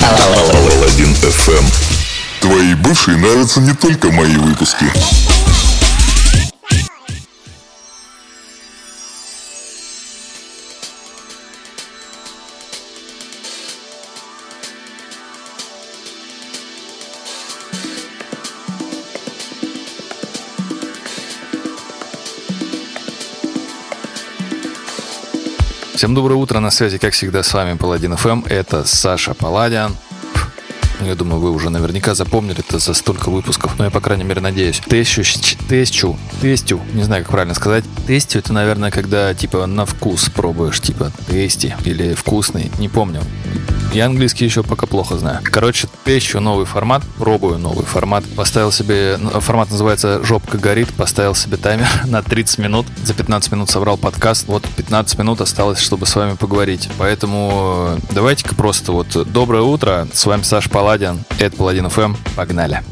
Паладин FM. Твоей бывшей нравятся не только мои выпуски. Всем доброе утро, на связи, как всегда, с вами Паладин FM, это Саша Паладин. Я думаю, вы уже наверняка запомнили это за столько выпусков, но я, по крайней мере, надеюсь. Тестю, не знаю, как правильно сказать. Тестю — это, наверное, когда, типа, на вкус пробуешь, типа, тести или вкусный, не помню. Я английский еще пока плохо знаю. Короче, тещу новый формат, пробую новый формат. Поставил себе, формат называется «Жопка горит», поставил себе таймер на 30 минут. За 15 минут собрал подкаст. Вот 15 минут осталось, чтобы с вами поговорить. Поэтому давайте-ка просто вот доброе утро. С вами Саша Паладин, это Паладин FM. Погнали.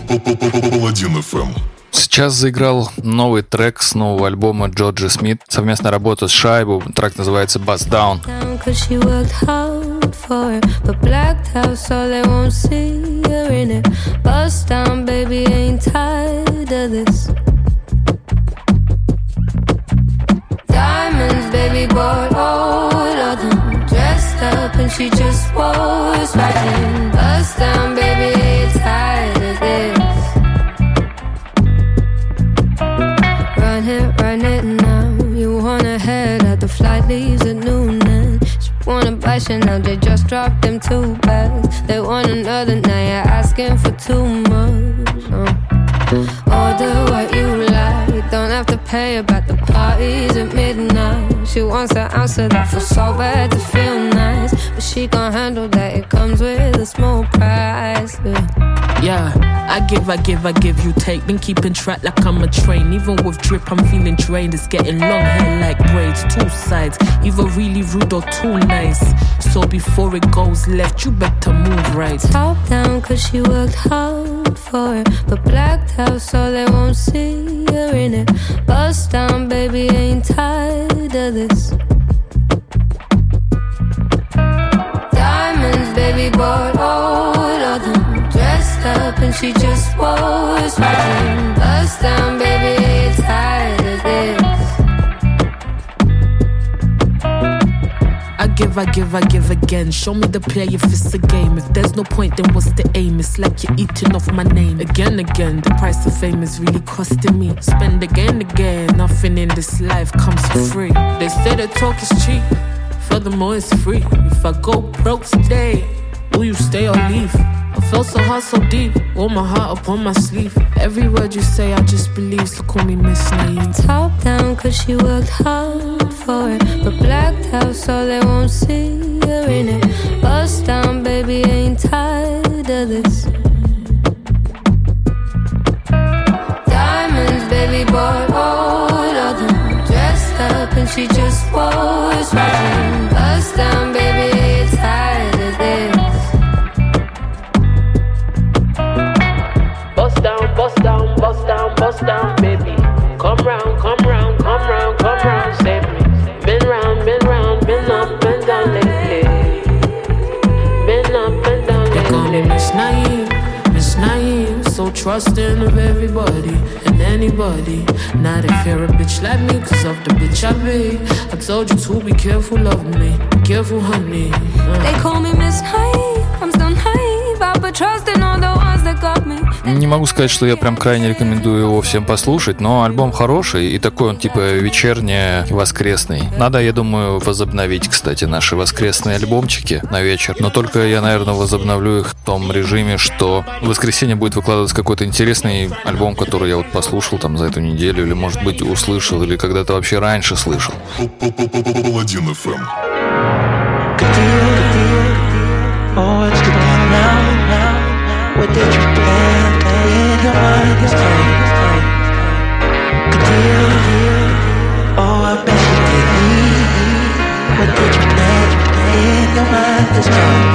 Паладин FM. Сейчас заиграл новый трек с нового альбома Джорджи Смит. Совместная работа с Шайбу. Трек называется Bust Down. Diamonds, baby, bought all of them. Dressed up and she just was right. Bust down, baby, ain't tired of this. Run it now. You wanna head out, the flight leaves at noon and she wanna buy Chanel, they just dropped them 2 bags. They want another, now you're asking for too much. Order what you like, don't have to pay about the parties at midnight. She wants an ounce of that, feels so bad to feel nice, but she gon' handle that, it comes with a small price. Yeah, I give, you take. Been keeping track like I'm a train. Even with drip, I'm feeling drained. It's getting long hair like braids, 2 sides, either really rude or too nice. So before it goes left, you better move right. Top down, cause she worked hard for it, but blacked out so they won't see her in it. Bust down, baby, ain't tired of this. Diamonds, baby, bought all of them. Dressed up and she just was right. Bust down, baby, ain't tired of this. I give again. Show me the play if it's a game. If there's no point, then what's the aim? It's like you're eating off my name. Again, the price of fame is really costing me. Spend again. Nothing in this life comes for free. They say that talk is cheap, furthermore it's free. If I go broke today, will you stay or leave? I felt so hard, so deep, wore my heart up on my sleeve. Every word you say I just believe, so call me Miss Naive. Top down cause she worked hard for it, but blacked out so they won't see her in it. Bust down, baby, ain't tired of this. Diamonds, baby, bought all of them. Dressed up and she just was right. Bust down, baby, ain't tired of this. Bust down, baby. Come round, save me. Been round, been up and down lately. Been up and down lately. They call me Miss Naive, so trusting of everybody and anybody. Not if you're a bitch like me, cause of the bitch I be. I told you to be careful of me, be careful, honey. They call me Miss Naive, I'm still naive. I put trust in all the ones that got me. Не могу сказать, что я прям крайне рекомендую его всем послушать, но альбом хороший и такой он типа вечерне-воскресный. Надо, я думаю, возобновить, кстати, наши воскресные альбомчики на вечер, но только я, наверное, возобновлю их в том режиме, что в воскресенье будет выкладываться какой-то интересный альбом, который я вот послушал там за эту неделю, или, может быть, услышал, или когда-то вообще раньше слышал. Паладин FM. What did you plan in your mind this time? Good deal, oh I bet you did me. What did you plan in your mind this time?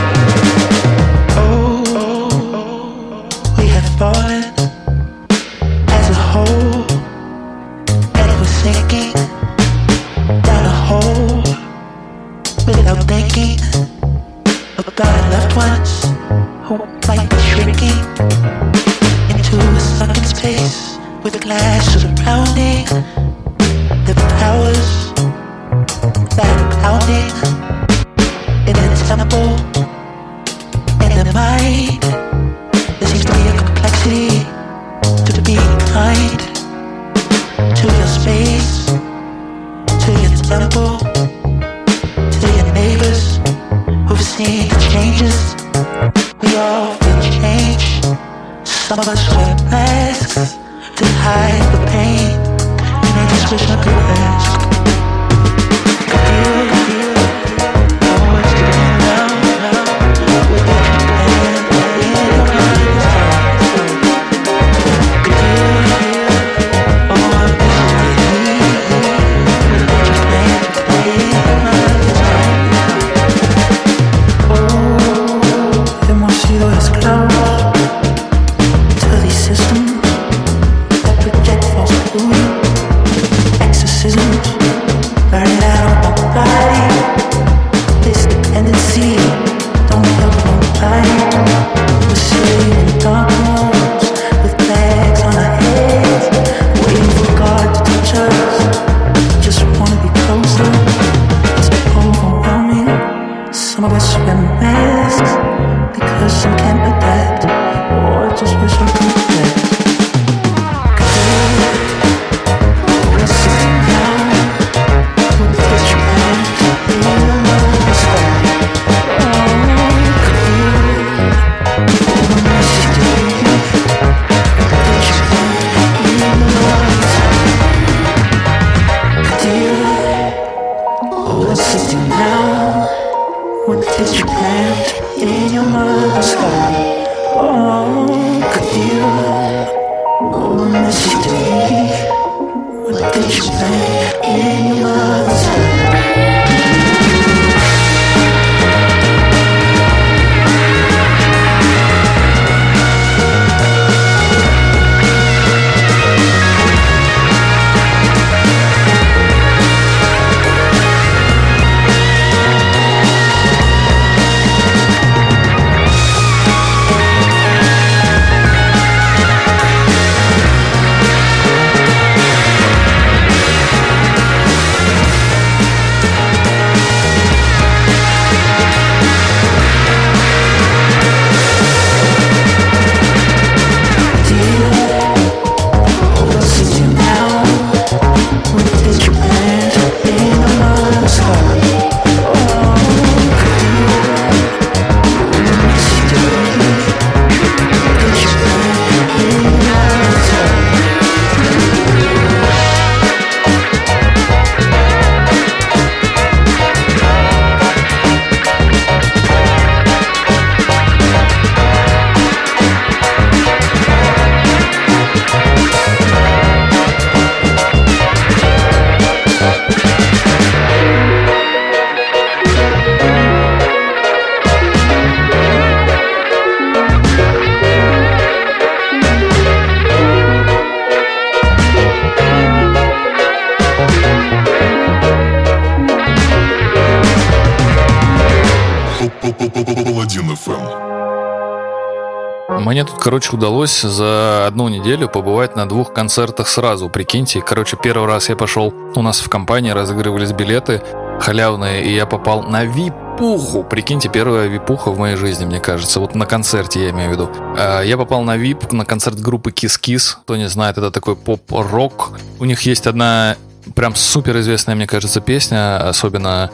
Oh, we had fallen as a whole, and it was sinking down a hole without thinking about our loved ones who might be shrinking into a sunken space with glass surrounding the powers that are clouding in the temple, in the mind. There seems to be a complexity to being kind to your space, to your temple, to your neighbors who've seen the changes. We all feel change. Some of us wear masks to hide the pain, and I just wish I could ask. Hemos sido esclavos just wear masks because some can't adapt, or just wish I could adapt. Мне тут, короче, удалось за одну неделю побывать на 2 концертах сразу, прикиньте. Короче, первый раз я пошел, у нас в компании разыгрывались билеты халявные, и я попал на випуху. Прикиньте, первая випуха в моей жизни, мне кажется. Вот на концерте, я имею в виду. Я попал на вип, на концерт группы Kiss Kiss. Кто не знает, это такой поп-рок. У них есть одна прям суперизвестная, мне кажется, песня, особенно...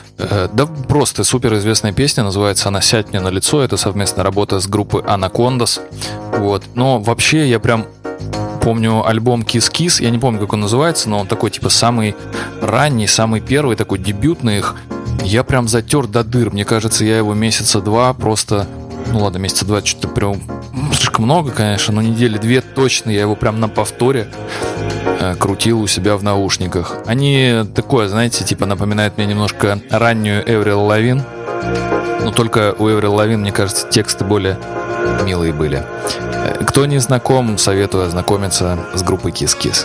Да просто суперизвестная песня, называется она «Сядь мне на лицо». Это совместная работа с группой Anacondas. Вот. Но вообще я прям помню альбом Kiss Kiss. Я не помню, как он называется, но он такой типа самый ранний, самый первый, такой дебютный их. Я прям затер до дыр. Мне кажется, я его месяца 2 просто... Ну ладно, месяца 2 что-то прям слишком много, конечно, но недели 2 точно я его прям на повторе крутил у себя в наушниках. Они такое, знаете, типа напоминают мне немножко раннюю Эврил Лавин. Но только у Эврил Лавин, мне кажется, тексты более милые были. Кто не знаком, советую ознакомиться с группой Kiss Kiss.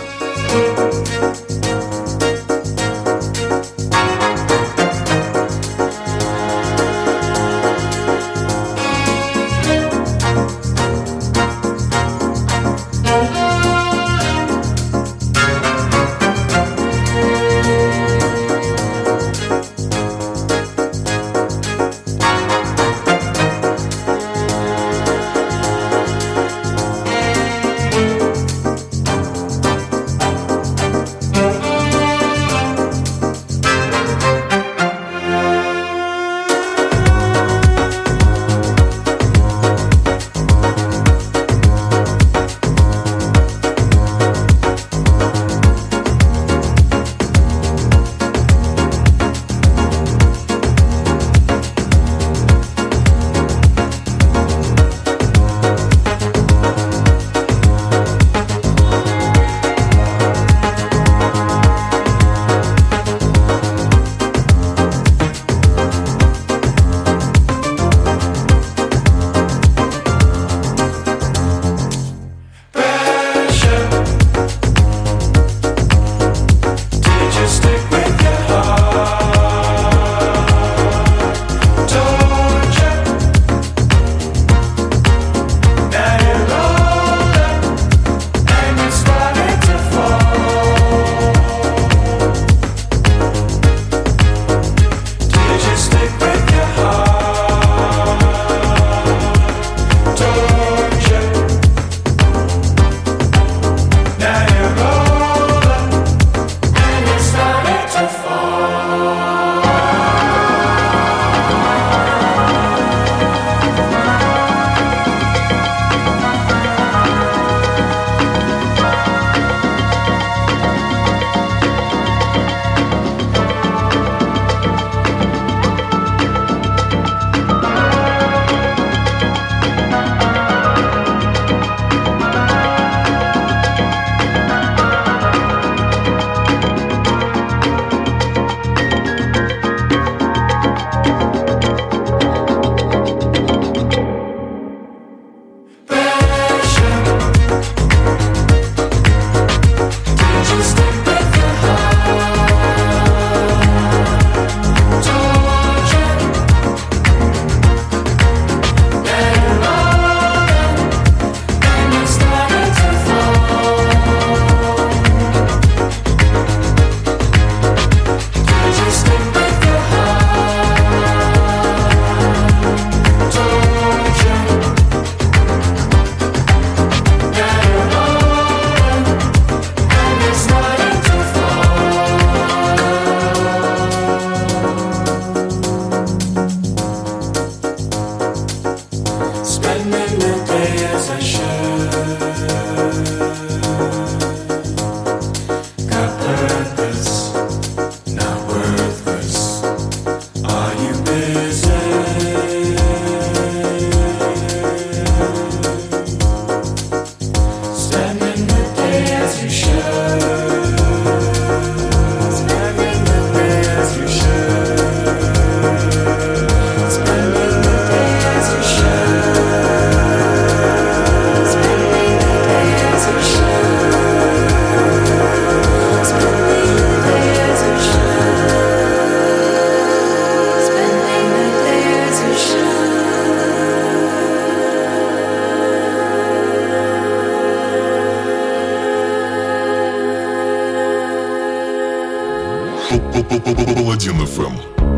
Паладин FM.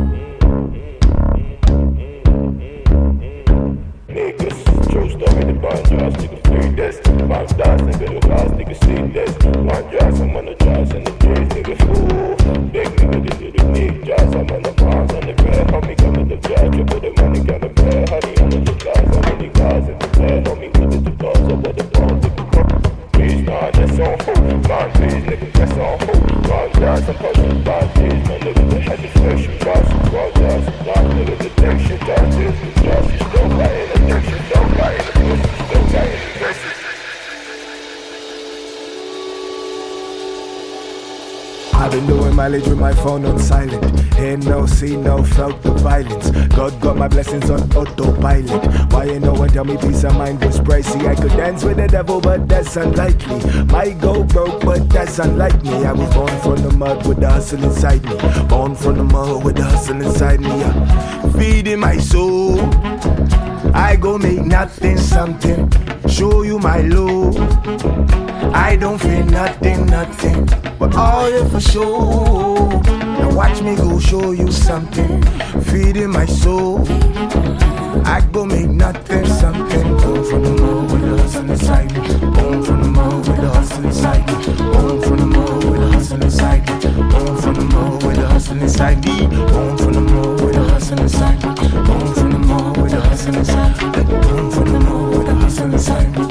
True story, the bond jobs, nigga free this. Bond stars, nigga, the guys, nigga see this. Bond jobs, I'm on the jobs and the J's, nigga fool. Big nigga, this is the big jobs, I'm on the bonds on the bed. Homie, come to the judge, you put the money on the bed. Honey, I'm on the guys, I'm on the guys in the bed. Homie, put it to bars, I'm on the bonds, nigga. Please, nah, that's on hold. Bond please, nigga, that's on hold. Bond jobs, I'm pushing bond please, my nigga, the head is fresh, you got some bond jobs. Bond nigga, the next shit, jobs is the jobs, you still got it, the next shit, still got it. I've been doing mileage with my phone on silent. Hear no, see no, felt the violence. God got my blessings on autopilot. Why ain't no one tell me peace of mind was pricey? I could dance with the devil, but that's unlikely. Might go broke, but that's unlike me. I was born from the mud with the hustle inside me. Born from the mud with the hustle inside me. Feeding my soul. I go make nothing something. Show you my love. I don't feel nothing, nothing. But all here for show. Now watch me go show you something. Feeding my soul. I go make nothing something. Born from the mud with the hustle inside me. Born from the mud with the hustle inside me. Born from the mud with the hustle inside me. Born from the mud with the hustle inside me. Born from the mud with the hustle inside me. Born from the mud with the hustle inside me. Born from the mud with the hustle inside me.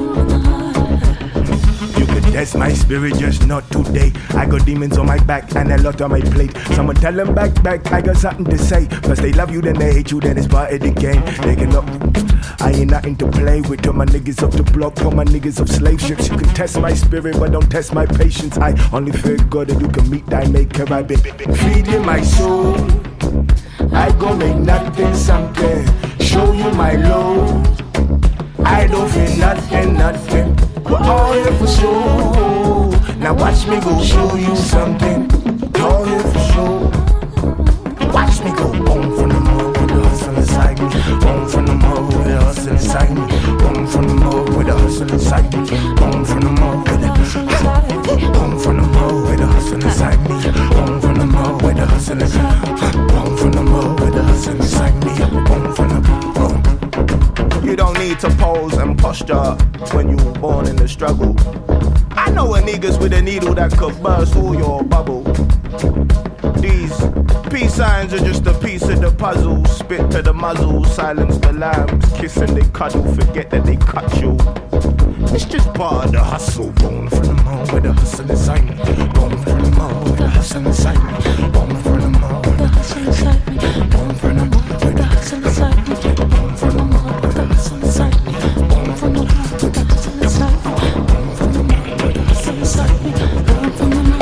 That's my spirit, just not today. I got demons on my back and a lot on my plate. Someone tell them back, I got something to say. First they love you, then they hate you, then it's part of the game. They can up. I ain't nothing to play with. All my niggas off the block, all my niggas off slave ships. You can test my spirit, but don't test my patience. I only fear God that you can meet thy maker. I've been feeding my soul. I go make nothing something. Show you my love. I don't feel nothing, nothing. But all here for show. Now watch me go show you something. All here for show. Watch me go boom from the mud with the hustle inside me. Boom from the mud with the hustle inside me. Boom from the mud with the hustle inside me. Boom from the mud with the boom from the mud with the hustle inside me. Boom from the mud with the hustle inside me. Boom from the mud with the hustle inside me. Boom from the boom. You don't need to pose and posture when you were born in the struggle. I know a niggas with a needle that could burst all your bubble. These peace signs are just a piece of the puzzle. Spit to the muzzle, silence the lambs. Kiss and they cuddle, forget that they cut you. It's just part of the hustle. Born from the mud with the hustle inside me. Born from the mud with the hustle inside me. Born from the mud with the hustle inside me. Born from the mud with the hustle inside me. Born from the mud with the hustle inside me. Born from the mud with the hustle inside me. Born from the mud with the hustle inside me. Born from the mud.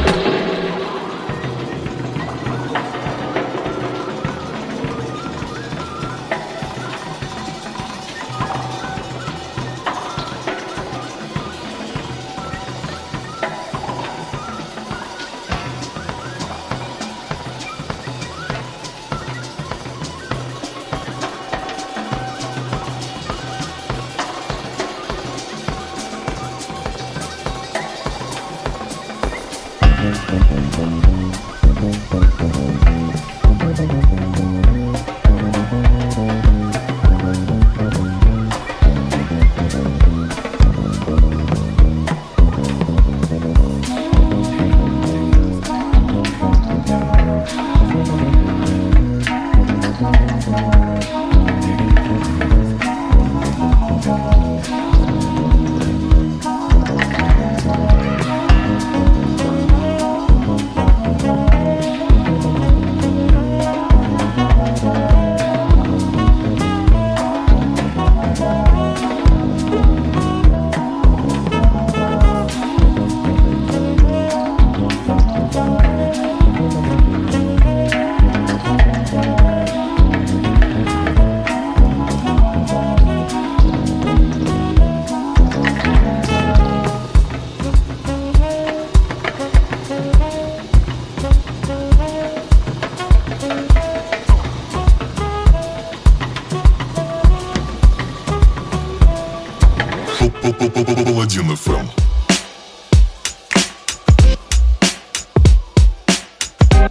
Паладин FM.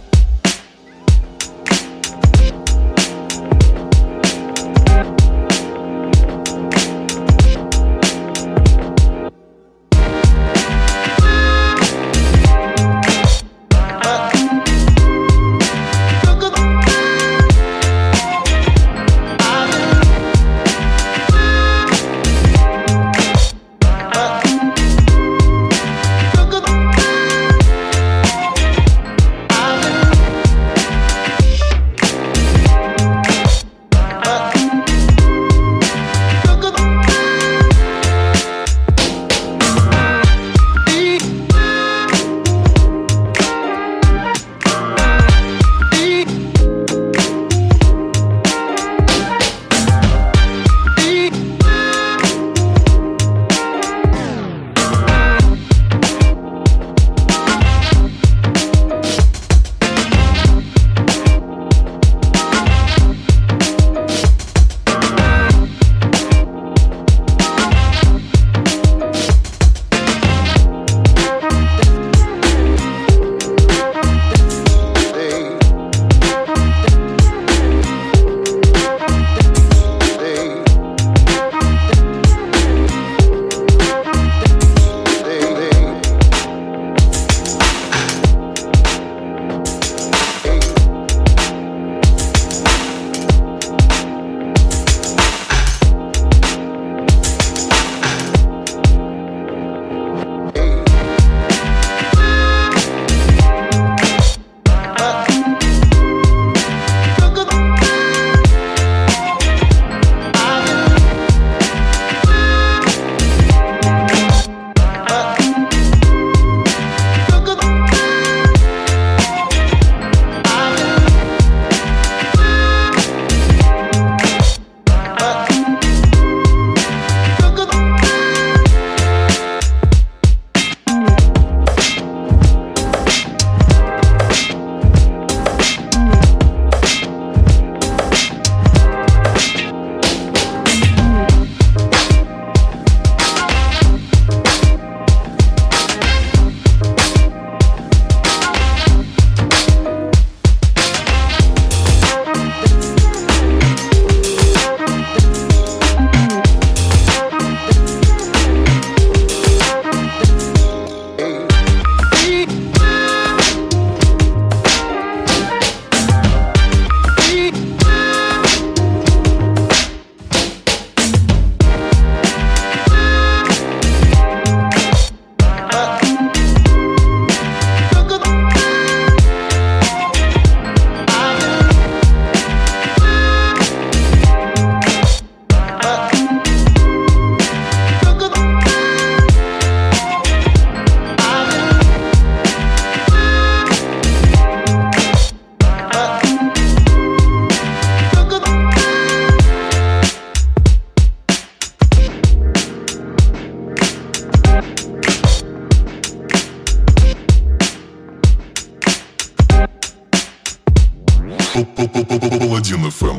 Паладин FM.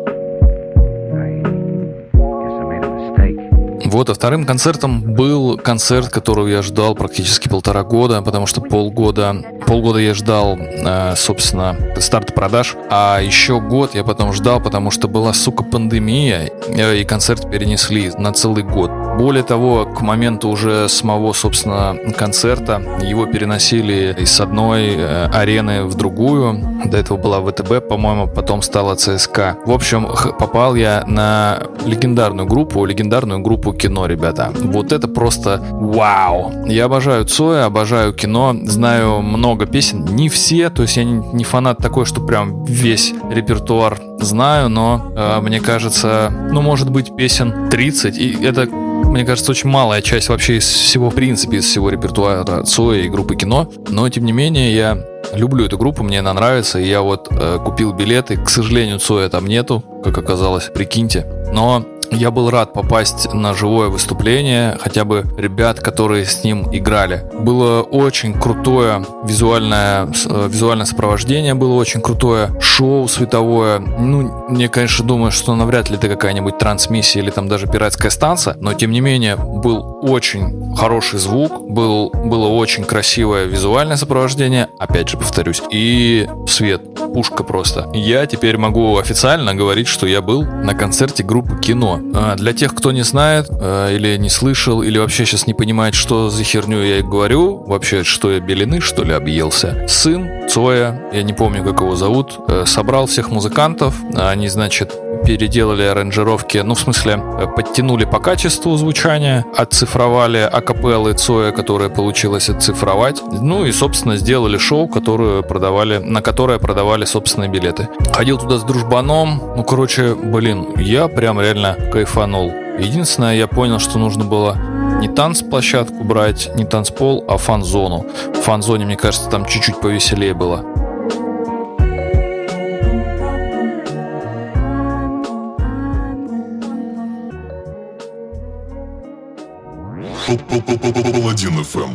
Вот, а вторым концертом был концерт, которого я ждал практически 1,5 года, потому что полгода я ждал, собственно, старта продаж, а еще год я потом ждал, потому что была, сука, пандемия, и концерт перенесли на целый год. Более того, к моменту уже самого, собственно, концерта его переносили из одной арены в другую. До этого была ВТБ, по-моему, потом стала ЦСКА. В общем, попал я на легендарную группу Кино, ребята. Вот это просто вау! Я обожаю Цоя, обожаю Кино, знаю много песен, не все, то есть я не фанат такой, что прям весь репертуар знаю, но мне кажется, может быть, песен 30, и это, мне кажется, очень малая часть вообще из всего, в принципе, из всего репертуара Цоя и группы Кино, но, тем не менее, я люблю эту группу, мне она нравится, и я вот купил билеты, к сожалению, Цоя там нету, как оказалось, прикиньте, но я был рад попасть на живое выступление, хотя бы ребят, которые с ним играли. Было очень крутое визуальное сопровождение, было очень крутое шоу световое. Мне, конечно, думаю, что навряд ли это какая-нибудь трансмиссия или там даже пиратская станция, но, тем не менее, был очень хороший звук, было очень красивое визуальное сопровождение, опять же повторюсь, и свет, пушка просто. Я теперь могу официально говорить, что я был на концерте группы Кино. Для тех, кто не знает, или не слышал, или вообще сейчас не понимает, что за херню я говорю, вообще, что я белины, что ли, объелся. Сын Цоя, я не помню, как его зовут, собрал всех музыкантов, они, значит, переделали аранжировки, в смысле, подтянули по качеству звучания, отцифровали акапеллы Цоя, которые получилось отцифровать, и, собственно, сделали шоу, на которое продавали собственные билеты. Ходил туда с дружбаном, я прям реально кайфанул. Единственное, я понял, что нужно было не танцплощадку брать, не танцпол, а фан-зону. В фан-зоне, мне кажется, там чуть-чуть повеселее было. Паладин FM.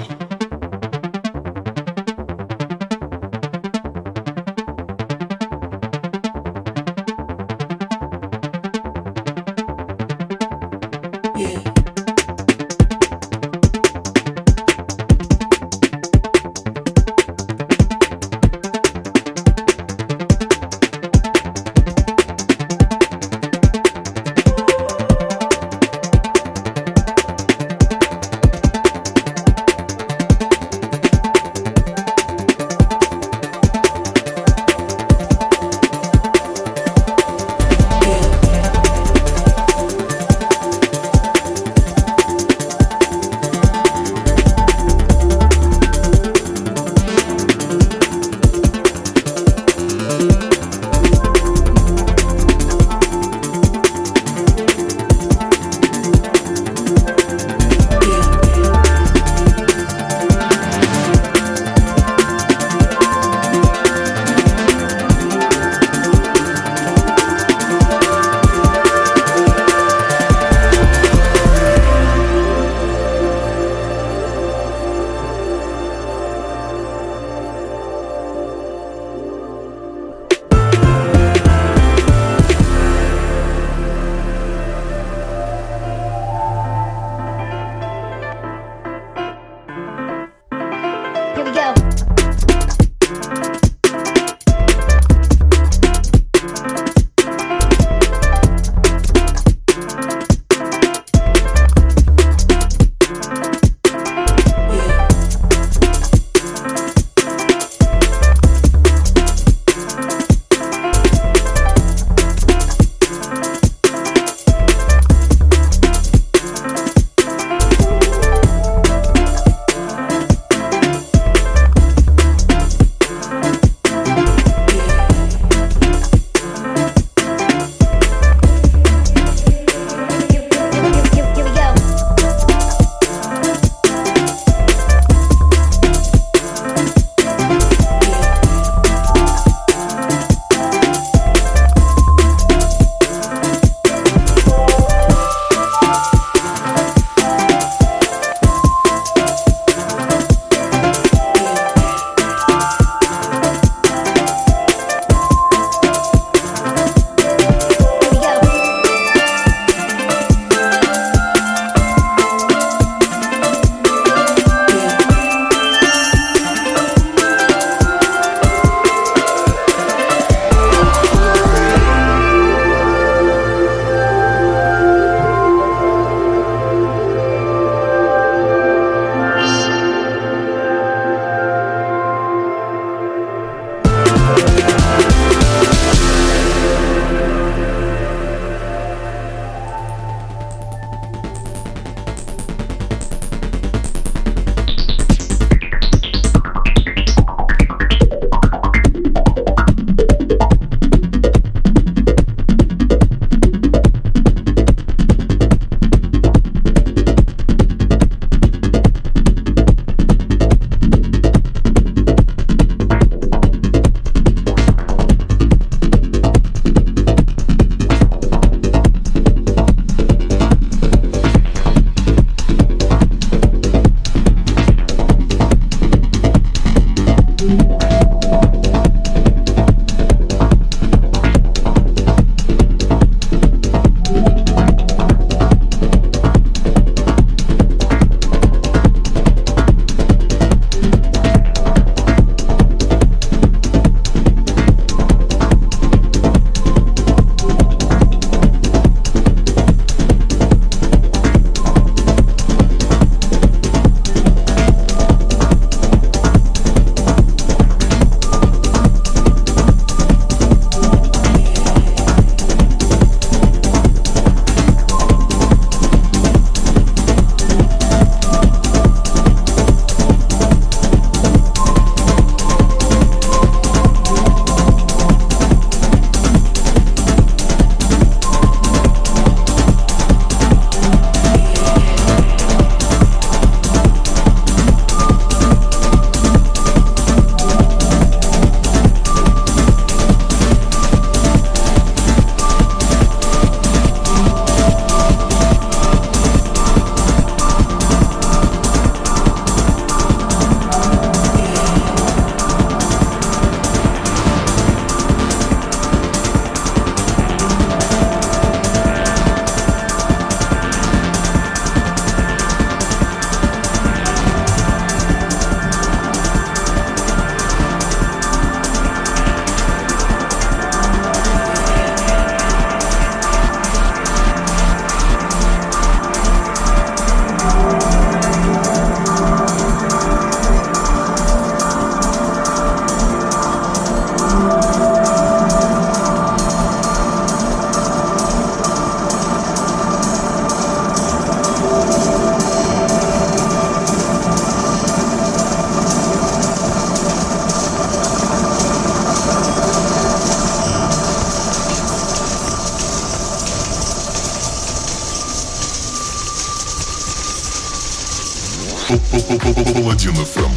Паладин FM.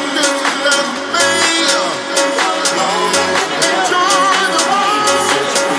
Join the world.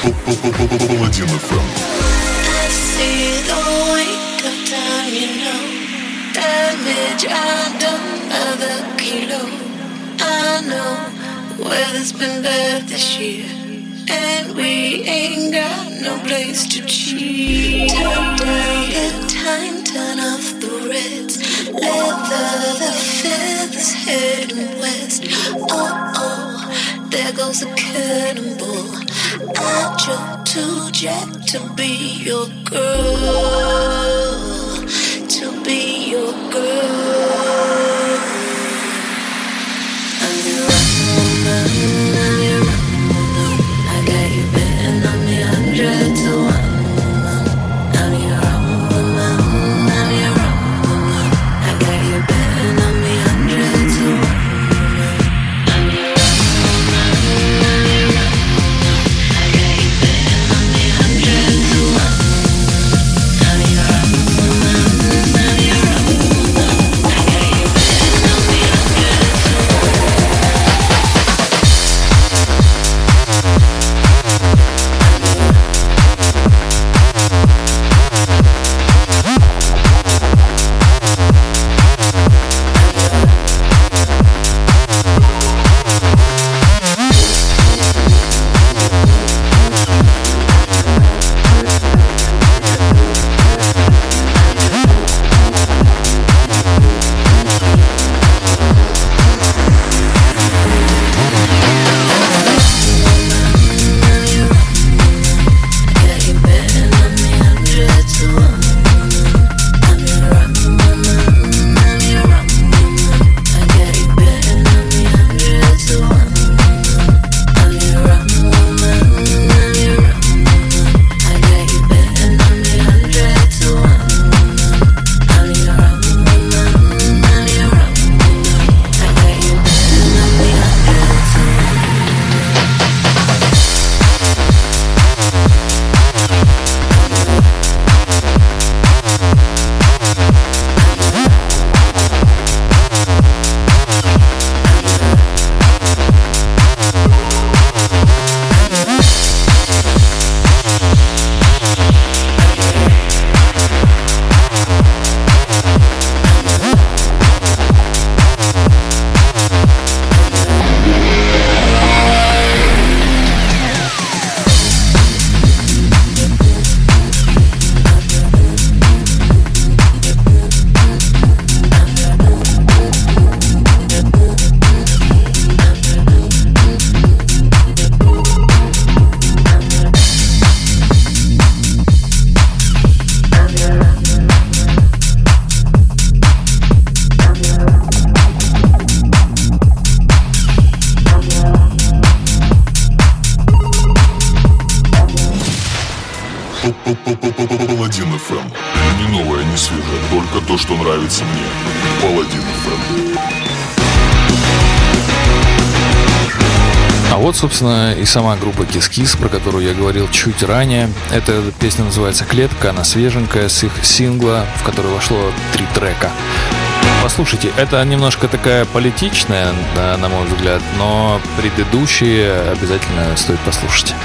Паладин FM. I see the wake of time, you know. Damage I done another kilo. I know weather's been bad this year, and we ain't got no place to cheat. Turn down the time, turn off the reds. Leather the feathers heading west. Oh, there goes a cannonball. I joke to Jack to be your girl, to be your girl. I'm your woman, I'm your woman. I got you betting on me 100 to 1. I'm your woman, I'm your woman. I got you betting on me 100 to 1. Паладин FM. Не новое, не свежее, только то, что нравится мне. Паладин FM. А вот, собственно, и сама группа Kiss, про которую я говорил чуть ранее. Эта песня называется «Клетка», она свеженькая, с их сингла, в который вошло 3 трека. Послушайте, это немножко такая политичная, да, на мой взгляд, но предыдущие обязательно стоит послушать.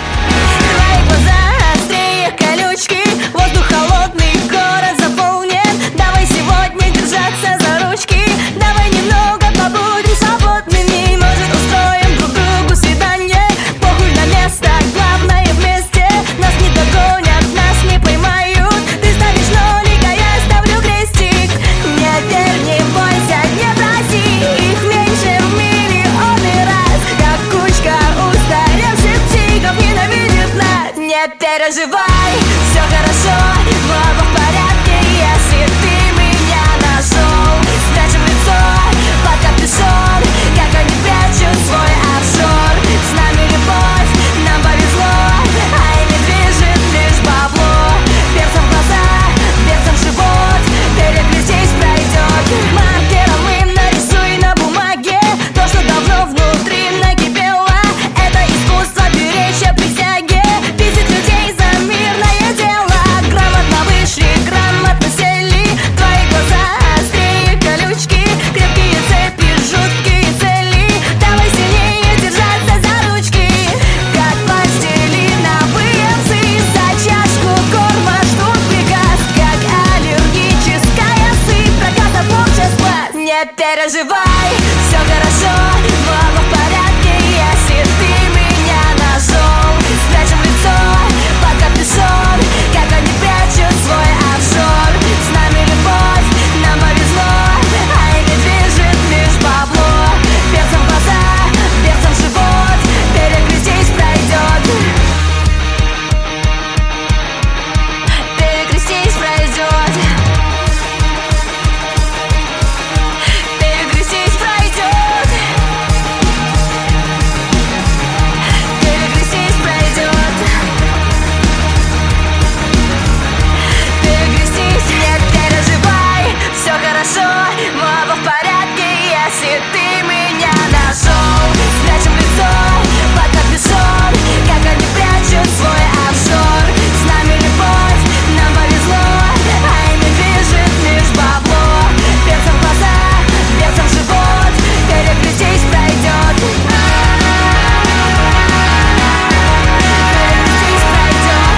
Воздух холодный, город заполнен. Давай сегодня держаться за ручки. Давай немного побудем свободными. Может, устроим друг другу свидание. Похуй на место, главное вместе. Нас не догонят, нас не поймают. Ты ставишь нолик, а я ставлю крестик. Не верь, не бойся, не проси. Их меньше в миллионы раз. Как кучка устаревших психов ненавидит нас. Не переживай, все хорошо, мы оба в порядке, если ты меня нашел. Спрячем лицо под капюшон, как они прячут свой офшор. С нами любовь, нам повезло, а ими движет лишь бабло. Перцем в глаза, перцем в живот, перегрызись пройдет. Маркером им нарисуй на бумаге то, что давно внутри накипело. Это искусство беречь о присяге. Бесит людей за мирное переживай, все хорошо, оба в порядке, если ты меня нашел. Спрячем лицо под капюшон, как они прячут свой офшор. С нами любовь, нам повезло, а ими движет лишь бабло. Перцем в глаза, перцем в живот, перекрестись пройдет. Перекрестись пройдет. Перекрестись пройдет. Перекрестись пройдет. Перекрестись, не переживай, все хорошо, мы оба в порядке, если ты меня нашел. Спрячем лицо под капюшон, как они прячут свой офшор. С нами любовь, нам повезло, а ими движет лишь бабло. Перцем в глаза, перцем в живот, перекрестись пройдет. Перекрестись пройдет.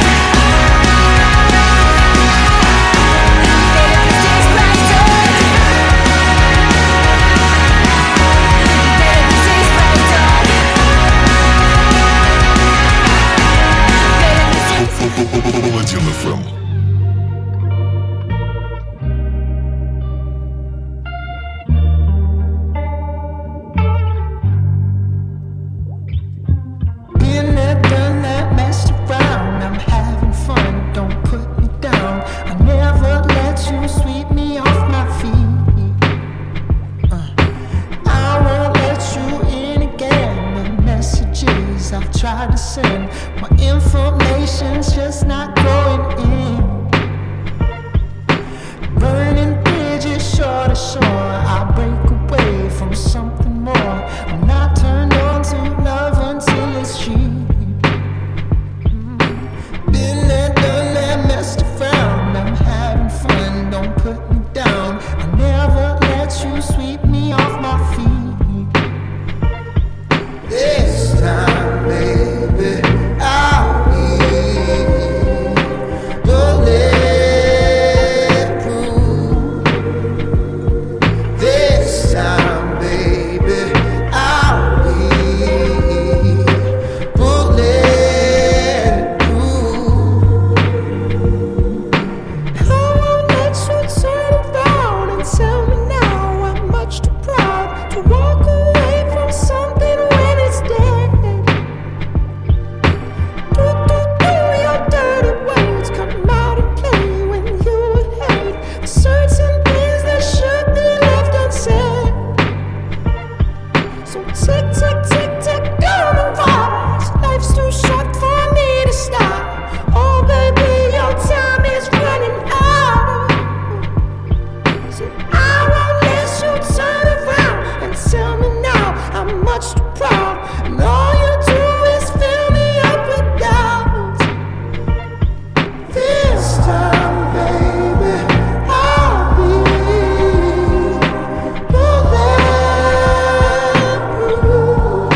Перекрестись пройдет. Перекрестись пройдет. Паладин FM. Been there, done that, messed around. I'm having fun, don't put me down. I never let you sweep me off my feet. I won't let you in again. The messages I've tried to send, my information's just not going in. Burning bridges shore to shore, I break away from something more. I'm not turned on to love until it's cheap. Been there, done that, messed around. I'm having fun, don't put me down. I never let you sweep me off my feet. This time, baby, I'll be bulletproof. This time, baby, I'll be bulletproof. I won't let you turn around and tell me now I'm much too proud to walk away from something when it's dead. Your dirty words come out and play when you hate. Certain things that should be left unsaid. So tick, tick, tick, tick, gonna rise. Life's too short for me to stop. Oh baby, your time is running out. So I won't let you turn around and tell me now I'm much too proud. And all you do is fill me up with doubt. This time, baby, I'll be bulletproof.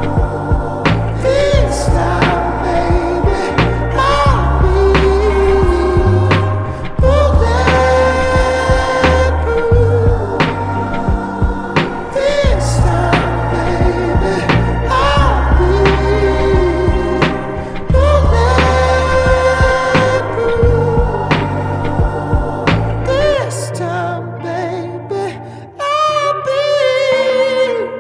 This time, baby, I'll be bulletproof. This time, baby, I'll be bulletproof. This time, baby, I'll be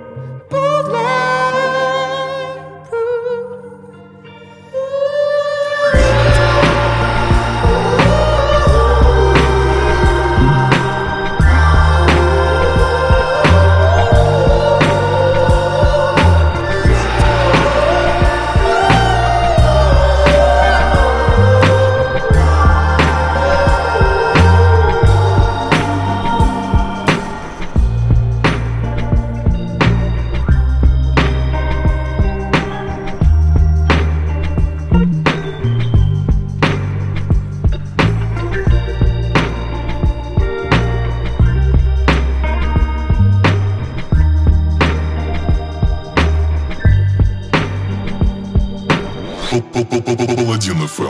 Паладин FM.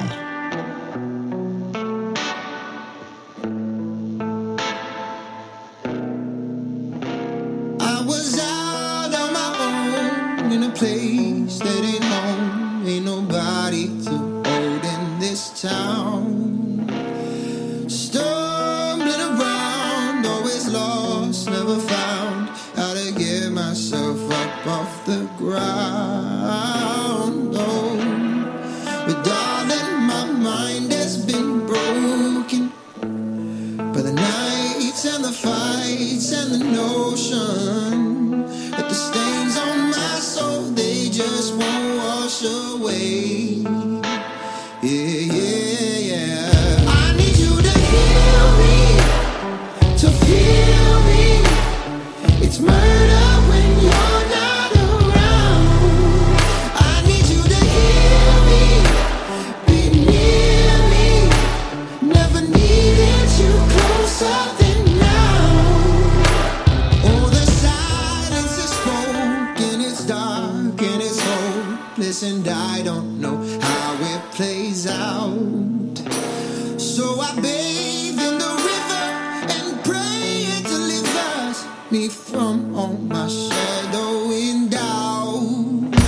place that ain't home. Ain't nobody to hold in this town. Stumbling around, always lost, never found how to get myself up off the ground. Oh, but darling, my mind has been broken by the nights and the fights and the notion that the stains on my soul, they just won't wash away. Yeah, yeah, yeah. I need you to heal me, to feel me. It's murder when you're not around. I need you to heal me, be near me. Never needed you closer than now. Oh, the silence is spoken, it's dark and it's hopeless, and I don't know how it plays out. So I bathe in the river and pray it delivers me from all my shadowing doubts.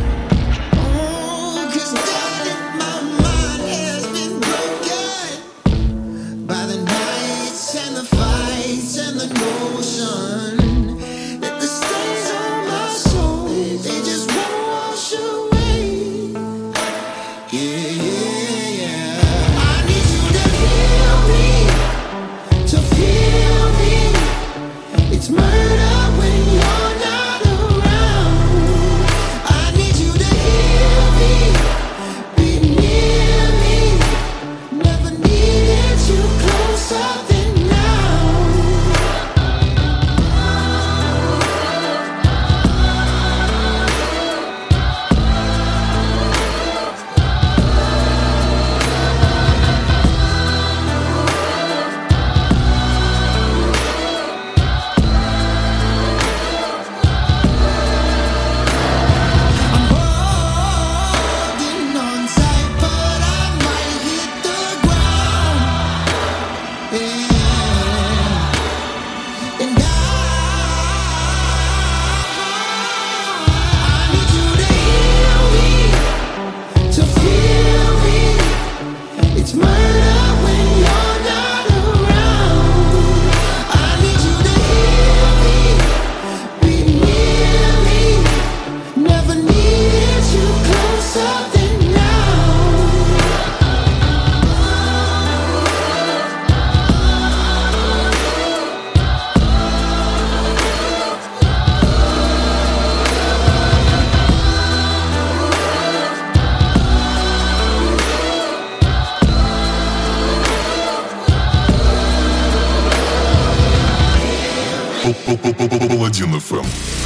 Oh, 'cause darling, my mind has been broken by the nights and the fights and the notion that the stains on my soul, they just won't wash away. Yeah, yeah, yeah. I need you to heal me, to feel me. It's murder when you're not around. I need you to heal me, be near me. Never needed you closer than now. Holding on tight, but I might hit the ground. Yeah. And I need you to heal me, to feel me. It's murder when you're not around. I need you to heal me, be near me. Never needed you closer than now. Паладин FM.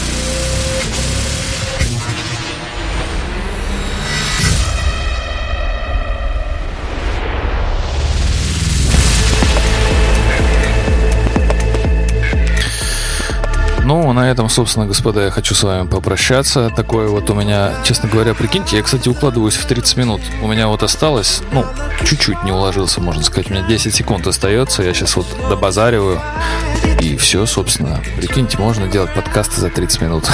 Ну, на этом, собственно, господа, я хочу с вами попрощаться. Такое вот у меня, честно говоря, прикиньте, я, кстати, укладываюсь в 30 минут. У меня вот осталось, ну, чуть-чуть не уложился, можно сказать. У меня 10 секунд остается. Я сейчас вот добазариваю. И все, собственно. Прикиньте, можно делать подкасты за 30 минут.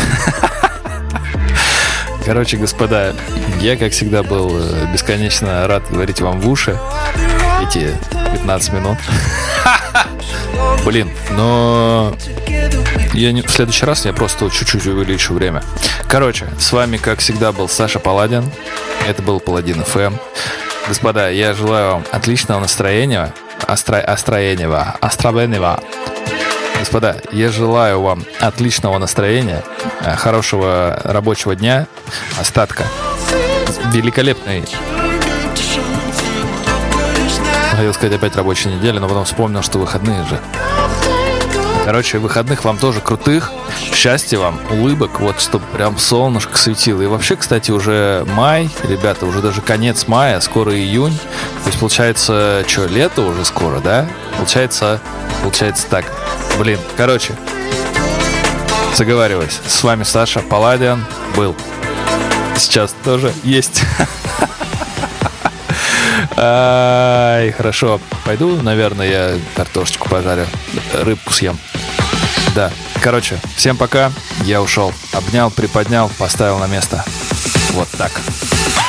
Короче, господа, я, как всегда, был бесконечно рад говорить вам в уши эти 15 минут. Блин, но в следующий раз я просто чуть-чуть увеличу время. Короче, с вами, как всегда, был Саша Паладин. Это был Паладин FM. Господа, я желаю вам отличного настроения. Остроенного. Господа, я желаю вам отличного настроения, хорошего рабочего дня, остатка великолепной, хотел сказать опять рабочей недели, но потом вспомнил, что выходные же. Короче, выходных вам тоже крутых, счастья вам, улыбок, вот чтобы прям солнышко светило. И вообще, кстати, уже май, ребята, уже даже конец мая, скоро июнь. То есть получается, что, лето уже скоро, да? Получается так. Блин, короче, заговариваюсь. С вами Саша Паладин был. Сейчас тоже есть. Ай, хорошо. Пойду, наверное, я картошечку пожарю, рыбку съем. Да, короче, всем пока. Я ушел. Обнял, приподнял, поставил на место. Вот так.